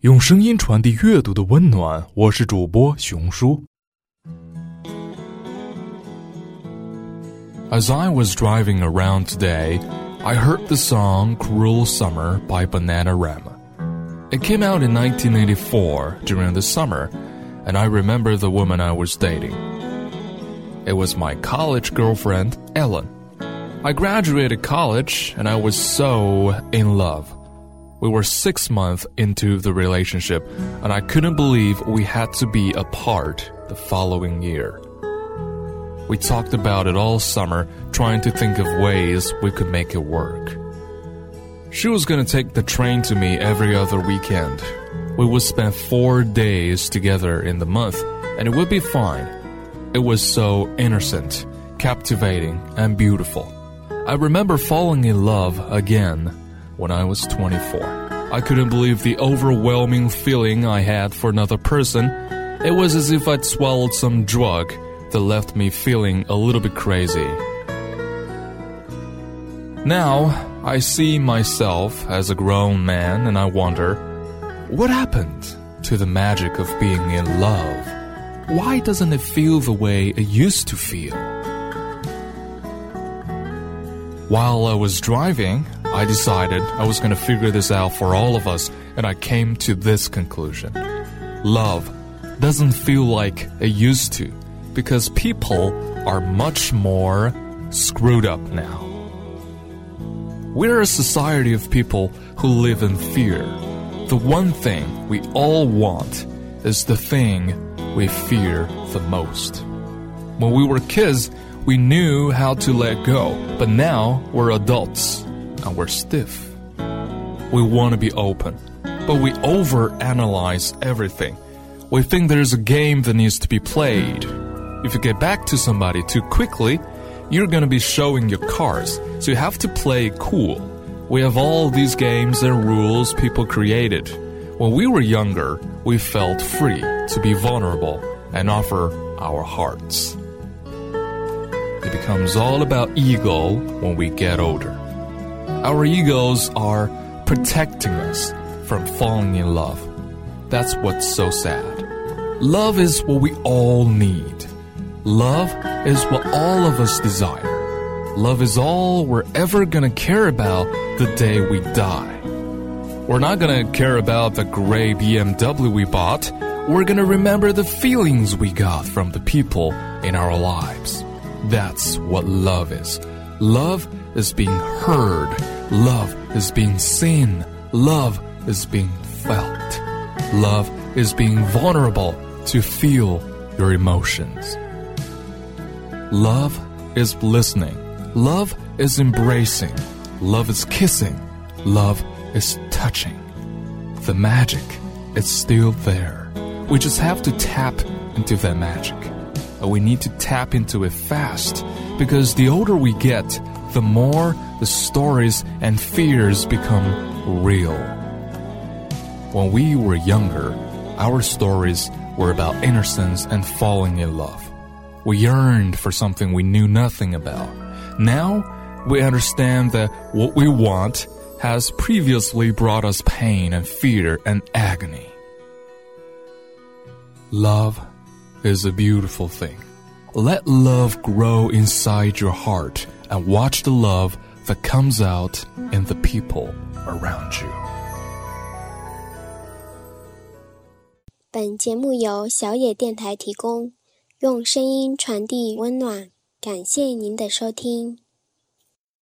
用声音传递阅读的温暖，我是主播熊叔。As I was driving around today, I heard the song Cruel Summer by Bananarama. It came out in 1984 during the summer, and I remember the woman I was dating. It was my college girlfriend, Ellen. I graduated college, and I was so in love.We were 6 months into the relationship, and I couldn't believe we had to be apart the following year. We talked about it all summer, trying to think of ways we could make it work. She was going to take the train to me every other weekend. We would spend 4 days together in the month, and it would be fine. It was so innocent, captivating, and beautiful. I remember falling in love again.When I was 24, I couldn't believe the overwhelming feeling I had for another person. It was as if I'd swallowed some drug that left me feeling a little bit crazy. Now, I see myself as a grown man and I wonder, what happened to the magic of being in love? Why doesn't it feel the way it used to feel? While I was driving,I decided I was going to figure this out for all of us, and I came to this conclusion. Love doesn't feel like it used to, because people are much more screwed up now. We're a society of people who live in fear. The one thing we all want is the thing we fear the most. When we were kids, we knew how to let go, but now we're adults.And we're stiff. We want to be open, but we overanalyze everything. We think there's a game that needs to be played. If you get back to somebody too quickly, you're going to be showing your cards, so you have to play cool. We have all these games and rules people created. When we were younger, we felt free to be vulnerable and offer our hearts. It becomes all about ego when we get older.Our egos are protecting us from falling in love. That's what's so sad. Love is what we all need. Love is what all of us desire. Love is all we're ever going to care about the day we die. We're not going to care about the gray BMW we bought. We're going to remember the feelings we got from the people in our lives. That's what love is. Love is being heard. Love is being seen. Love is being felt. Love is being vulnerable to feel your emotions. Love is listening. Love is embracing. Love is kissing. Love is touching. The magic is still there. We just have to tap into that magic. And we need to tap into it fast, because the older we get,the more the stories and fears become real. When we were younger, our stories were about innocence and falling in love. We yearned for something we knew nothing about. Now, we understand that what we want has previously brought us pain and fear and agony. Love is a beautiful thing. Let love grow inside your heart.And watch the love that comes out in the people around you. 本节目由小野电台提供，用声音传递温暖，感谢您的收听。